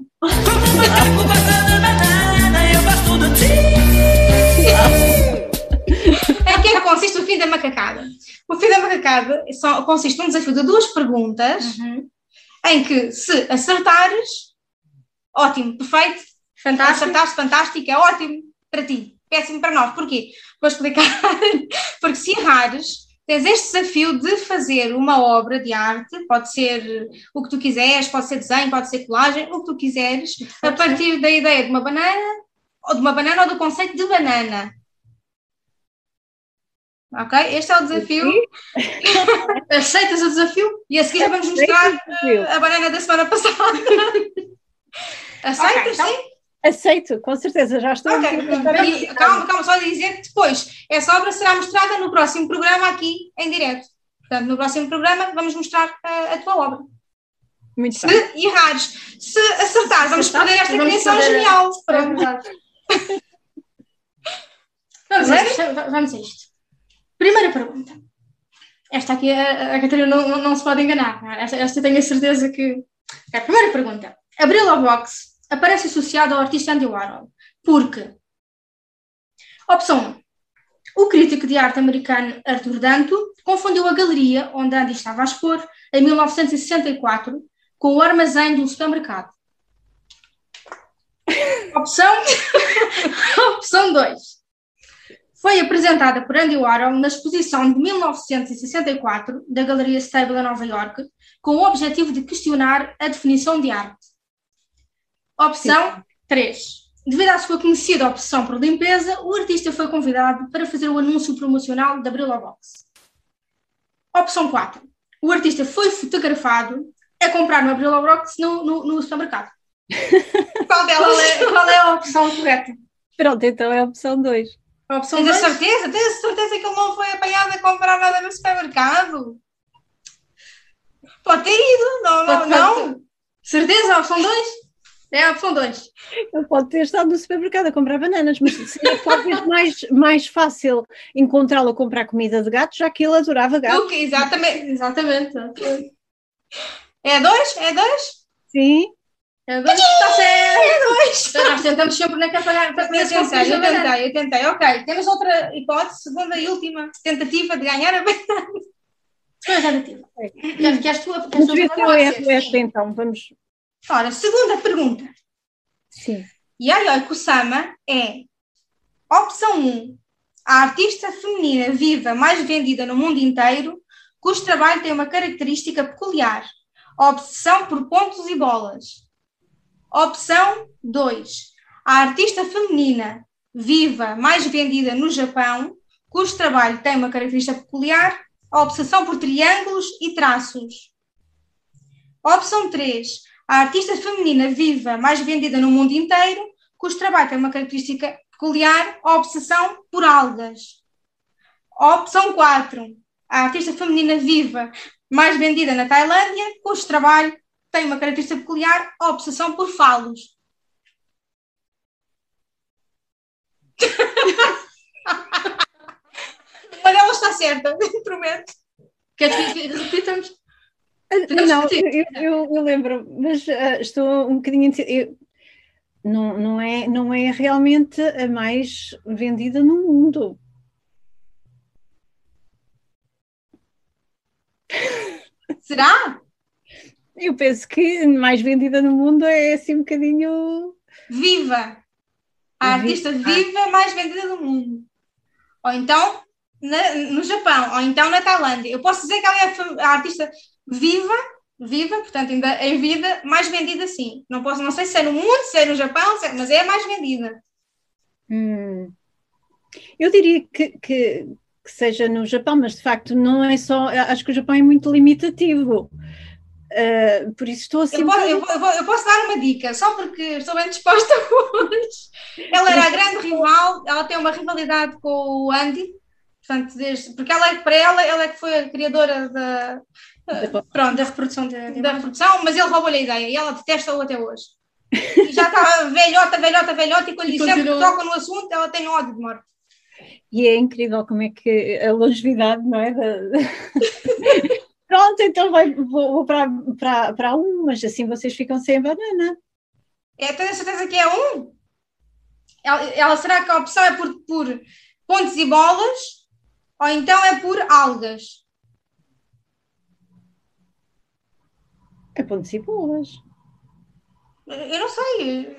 Em que é que consiste o Fim da Macacada? O Fim da Macacada consiste num desafio de 2 perguntas, em que se acertares, ótimo, perfeito, fantástico. Acertaste, fantástico, é ótimo para ti, péssimo para nós. Porquê? Vou explicar. Porque se errares, tens este desafio de fazer uma obra de arte, pode ser o que tu quiseres, pode ser desenho, pode ser colagem, o que tu quiseres, a partir da ideia de uma banana ou do conceito de banana. Ok? Este é o desafio. Aceitas o desafio? E a seguir vamos mostrar a banana da semana passada. Aceitas, sim? Aceito, com certeza, já estou. Calma, só dizer que depois essa obra será mostrada no próximo programa aqui em direto. Portanto, no próximo programa vamos mostrar a tua obra. Muito se errares, se acertares, vamos perder esta criação genial. Vamos a isto. Primeira pergunta. Esta aqui, a Catarina não se pode enganar. Esta tenho a certeza que... A primeira pergunta. A Brillobox aparece associado ao artista Andy Warhol. Porque, opção 1, o crítico de arte americano Arthur Danto confundiu a galeria onde Andy estava a expor, em 1964, com o armazém de um supermercado. Opção 2. Foi apresentada por Andy Warhol na exposição de 1964 da Galeria Stable em Nova Iorque, com o objetivo de questionar a definição de arte. Opção 3. Devido à sua conhecida obsessão por limpeza, o artista foi convidado para fazer o anúncio promocional da Brillobox. Opção 4. O artista foi fotografado a comprar uma Brillobox no supermercado. Qual é a opção correta? Pronto, então é a opção 2. Tens a certeza? Tens a certeza que ele não foi apanhado a comprar nada no supermercado? Pode ter ido, não. Certeza? A opção 2? É a opção 2. Ele pode ter estado no supermercado a comprar bananas, mas seria talvez mais fácil encontrá-lo a comprar comida de gato, já que ele adorava gato. Exatamente. É 2? É 2? Sim. É 2? Está certo! É 2! Nós tentamos sempre na campanha para comer. Eu tentei. Ok, temos outra hipótese, segunda e última tentativa de ganhar a banana. Segunda tentativa. Queres tu? Vamos ver se eu erro esta então, vamos... Ora, segunda pergunta. Sim. Yayoi Kusama é opção 1, a artista feminina viva mais vendida no mundo inteiro, cujo trabalho tem uma característica peculiar, a obsessão por pontos e bolas. Opção 2, a artista feminina viva mais vendida no Japão, cujo trabalho tem uma característica peculiar, a obsessão por triângulos e traços. Opção 3, a artista feminina viva mais vendida no mundo inteiro, cujo trabalho tem uma característica peculiar, a obsessão por algas. Opção 4, a artista feminina viva mais vendida na Tailândia, cujo trabalho tem uma característica peculiar, a obsessão por falos. Uma delas está certa, prometo. Queres que repitamos? Não, eu lembro, mas estou um bocadinho... Não é realmente a mais vendida no mundo. Será? Eu penso que a mais vendida no mundo é assim um bocadinho... Viva! A artista viva mais vendida do mundo. Ou então no Japão, ou então na Tailândia. Eu posso dizer que ela é a artista viva, portanto ainda em vida, mais vendida sim. Não sei se é no mundo, se é no Japão, mas é a mais vendida. Eu diria que seja no Japão, mas de facto não é só... Acho que o Japão é muito limitativo. Por isso estou assim... Eu posso dar uma dica, só porque estou bem disposta hoje. Ela era a grande rival, ela tem uma rivalidade com o Andy, portanto, porque para ela é que foi a criadora da reprodução, mas ele roubou-lhe a ideia e ela detesta-o até hoje. E já está velhota, e quando lhe sempre toca no assunto, ela tem ódio de morte. E é incrível como é que a longevidade, não é? Pronto, então vou para um, mas assim vocês ficam sem a banana. Tenho a certeza que é um? Ela será que a opção é por pontos e bolas ou então é por algas? É pontos e bolas. Eu não sei.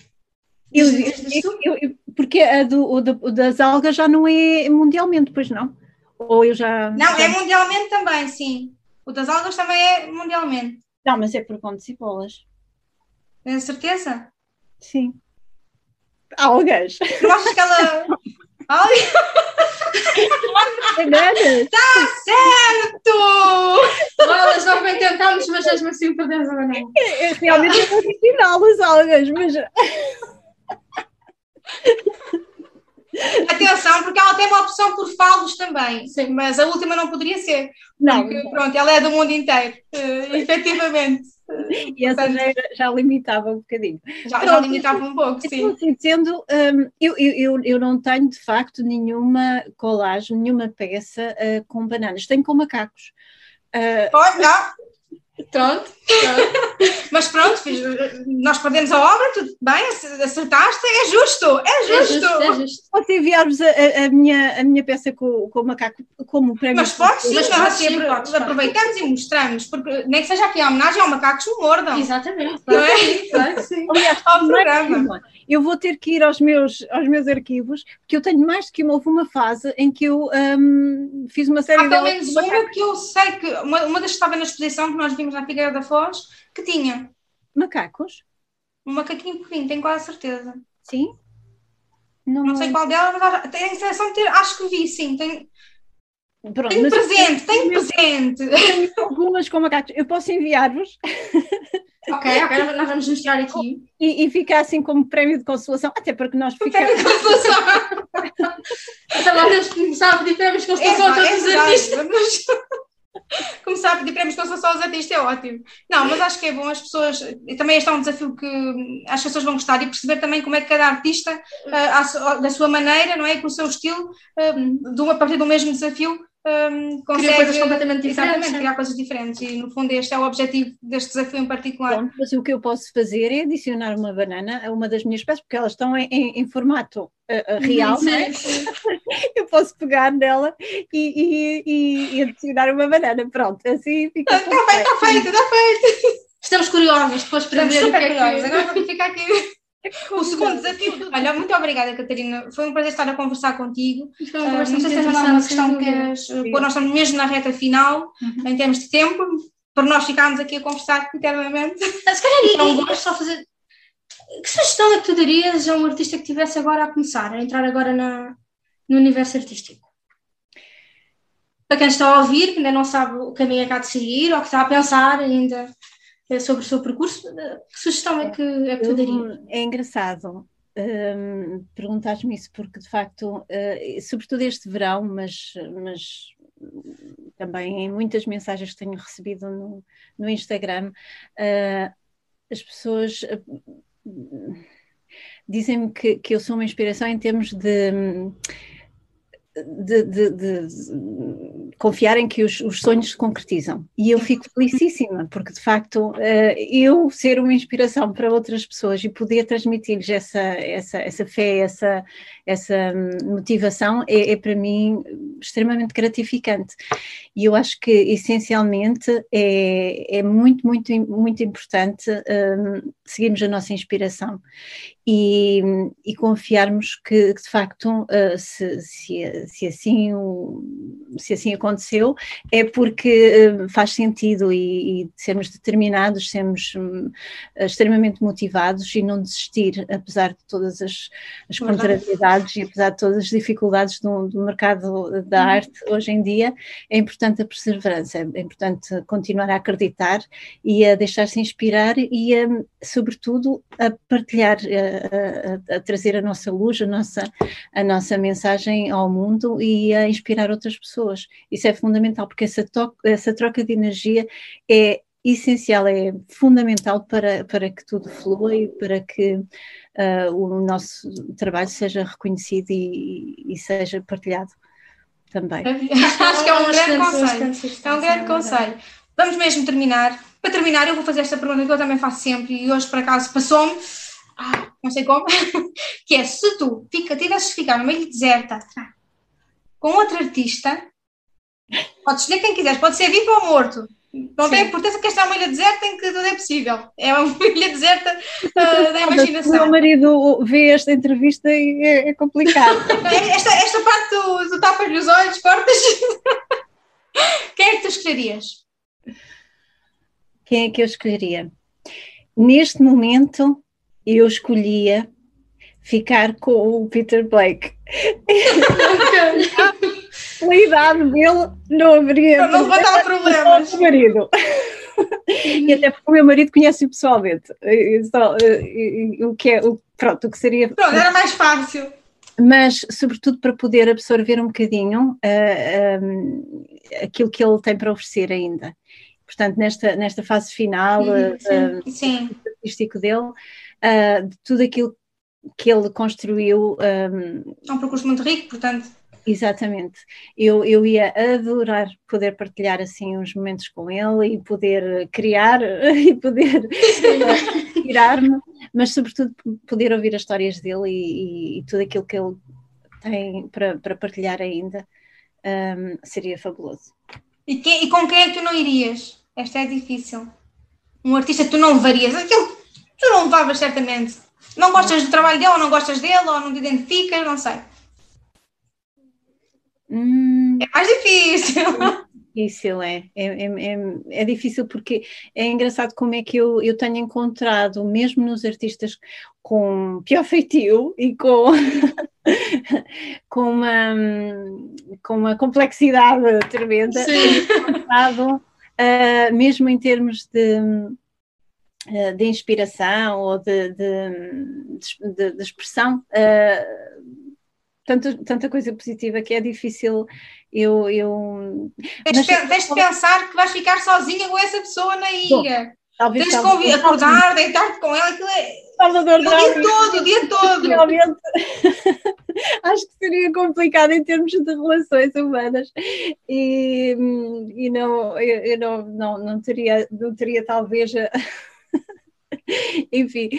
Porque a das algas já não é mundialmente, pois não? Ou eu já... Não, é mundialmente também, sim. O das algas também é mundialmente. Não, mas é por pontos e bolas. Tenho certeza? Sim. Algas. Não achas que ela... Bananas. Está certo! Nós bem tentámos, mas mesmo assim perdemos a banana. Realmente é original as algas, mas... Atenção, porque ela tem uma opção por falos também. Sim. Mas a última não poderia ser. Não. Porque, pronto, ela é do mundo inteiro. Efetivamente. E essa já limitava um bocadinho. Já limitava um pouco, sim. Então, assim, dizendo, eu não tenho, de facto, nenhuma colagem, nenhuma peça com bananas. Tenho com macacos. Pronto. Mas pronto, nós perdemos a obra, tudo bem, acertaste, é justo. Posso enviar-vos a minha peça com o macaco como prémio? Mas podes sim, nós aproveitamos e mostramos, porque nem que seja aqui a homenagem ao macaco que o mordam. Exatamente. Não é? Claro, sim. Aliás, ao programa. Eu vou ter que ir aos meus arquivos, porque eu tenho mais do que houve uma fase em que eu fiz uma série de... Há pelo menos uma que eu sei que, uma das que estava na exposição que nós vimos na Figueira da Foz, que tinha. Macacos? Um macaquinho pequenino, tenho quase certeza. Sim? Não sei qual delas, mas tenho a sensação de ter, acho que vi, sim. Tenho presente. Tenho algumas com macacos. Eu posso enviar-vos. Ok, nós vamos mostrar aqui. E fica assim como prémio de consolação, até porque nós ficamos... Prémio de consolação! Até lá temos que começar a pedir prémios de consolação a todos os artistas. Começar a pedir prémios de consolação aos artistas é ótimo. Não, mas acho que é bom as pessoas... E também este é um desafio que as pessoas vão gostar e perceber também como é que cada artista, da sua maneira, não é? Com o seu estilo, a partir do mesmo desafio, consegue... Criar coisas completamente diferentes. Exatamente, criar coisas diferentes. E, no fundo, este é o objetivo deste desafio em particular. Pronto, mas o que eu posso fazer é adicionar uma banana a uma das minhas peças, porque elas estão em formato real, não é? Eu posso pegar nela e adicionar uma banana. Pronto, assim fica... Está feito. Estamos curiosos depois para ver o que é que... Agora vamos ficar aqui... O segundo desafio. Olha, muito obrigada, Catarina. Foi um prazer estar a conversar contigo. Não sei se tens alguma questão que queres pôr. Nós estamos mesmo na reta final, em termos de tempo, para nós ficarmos aqui a conversar internamente. Se calhar só fazer. Que sugestão é que tu darias a um artista que estivesse agora a começar, a entrar agora no universo artístico? Para quem está a ouvir, que ainda não sabe o caminho que há de seguir, ou que está a pensar ainda sobre o seu percurso, que sugestão é que tu darias? É engraçado perguntares-me isso, porque de facto, sobretudo este verão, mas também em muitas mensagens que tenho recebido no Instagram, as pessoas dizem-me que eu sou uma inspiração em termos de confiarem que os sonhos se concretizam. E eu fico felicíssima, porque de facto eu ser uma inspiração para outras pessoas e poder transmitir-lhes essa fé, essa motivação é para mim extremamente gratificante. E eu acho que essencialmente é muito, muito, muito importante seguirmos a nossa inspiração e confiarmos que de facto se assim aconteceu é porque faz sentido e sermos determinados, sermos extremamente motivados e não desistir, apesar de todas as contrariedades e apesar de todas as dificuldades do mercado da arte hoje em dia. É importante a perseverança, é importante continuar a acreditar e a deixar-se inspirar e sobretudo a partilhar, a trazer a nossa luz, a nossa mensagem ao mundo e a inspirar outras pessoas. Isso é fundamental, porque essa troca de energia é essencial, é fundamental para que tudo flua e para que o nosso trabalho seja reconhecido e seja partilhado. também. Acho que é um grande conselho. É um grande conselho. Vamos mesmo terminar. Para terminar, eu vou fazer esta pergunta que eu também faço sempre e hoje, por acaso, passou-me, não sei como, que é, se tu tivesses de ficar numa ilha deserta com outro artista, podes escolher quem quiseres, pode ser vivo ou morto. Não tem importância que esta é uma ilha deserta em que tudo é possível. É uma ilha deserta da imaginação. O meu marido vê esta entrevista e é complicado. Esta parte do tapas-lhe os olhos, cortas. Quem é que tu escolherias? Quem é que eu escolheria? Neste momento, eu escolhia ficar com o Peter Blake. A idade dele não haveria... Não vai dar problemas. O marido. E até porque o meu marido conhece-o pessoalmente. O que seria... Pronto, era mais fácil. Mas, sobretudo, para poder absorver um bocadinho aquilo que ele tem para oferecer ainda. Portanto, nesta fase final artístico dele, de tudo aquilo que ele construiu. É um percurso muito rico, portanto. Exatamente. Eu ia adorar poder partilhar assim uns momentos com ele e poder criar e poder inspirar-me, mas sobretudo poder ouvir as histórias dele e tudo aquilo que ele tem para partilhar ainda, seria fabuloso. E com quem é que tu não irias? Esta é difícil. Um artista que tu não levarias, aquele que tu não levavas certamente. Não gostas do trabalho dele, ou não gostas dele, ou não te identificas, não sei. É mais difícil. Difícil, é difícil porque é engraçado como é que eu tenho encontrado, mesmo nos artistas com pior feitio e com uma complexidade tremenda, tenho encontrado, mesmo em termos de inspiração ou de expressão, tanta coisa positiva que é difícil Tens de pensar que vais ficar sozinha com essa pessoa na ilha. Tens de acordar, deitar-te com ela, aquilo é Salvador Dali. O dia todo. Realmente acho que seria complicado em termos de relações humanas e eu não teria talvez enfim,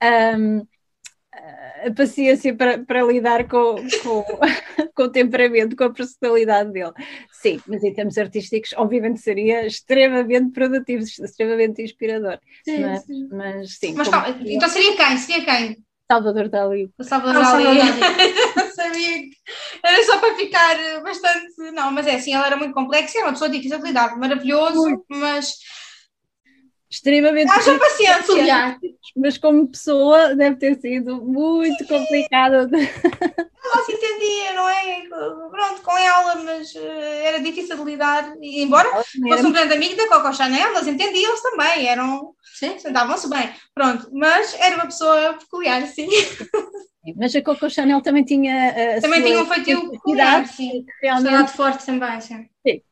a paciência para lidar com o temperamento, com a personalidade dele. Sim, mas em termos artísticos, obviamente seria extremamente produtivo, extremamente inspirador. Mas sim. Então seria quem? Salvador Dali. O Salvador Dali. Não sabia que era só para ficar bastante... Não, mas é assim, ele era muito complexo, era uma pessoa difícil de lidar, maravilhoso, muito. Mas... extremamente... Haja paciência. Mas como pessoa deve ter sido muito complicado. Ela se entendia, não é? Pronto, com ela, mas era difícil de lidar. E embora fosse um grande amigo da Coco Chanel, elas entendiam-se também, davam-se bem. Pronto, mas era uma pessoa peculiar, sim. Mas a Coco Chanel também tinha um feitio peculiar, sim. Realmente forte também, sim.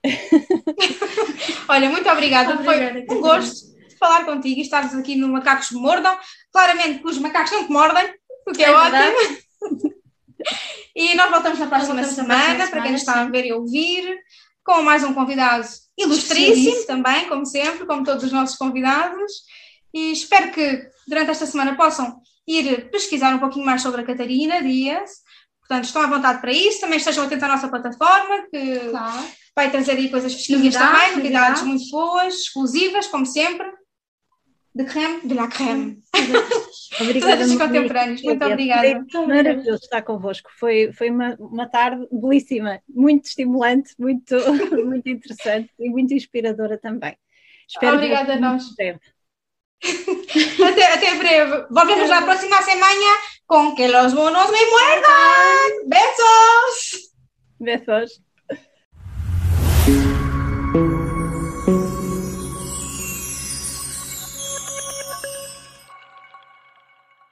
Olha, muito obrigada. Foi um gosto falar contigo e estarmos aqui no Macacos Mordam. Claramente que os macacos não te mordem, o que é ótimo. E nós voltamos na próxima semana, para quem nos está a ver e ouvir, com mais um convidado ilustríssimo também, como sempre, como todos os nossos convidados. E espero que durante esta semana possam ir pesquisar um pouquinho mais sobre a Catarina Dias. Portanto, estão à vontade para isso. Também estejam atentos à nossa plataforma, que vai trazer aí coisas fresquinhas também, novidades muito boas, exclusivas, como sempre. De la crème. Obrigada. Todos os contemporâneos. Muito obrigada. Maravilhoso estar convosco. Foi uma tarde belíssima, muito estimulante, muito, muito interessante e muito inspiradora também. Espero obrigada a nós. Até breve. Volvemos la próxima semana con Que los monos me muerdan. Besos. Besos.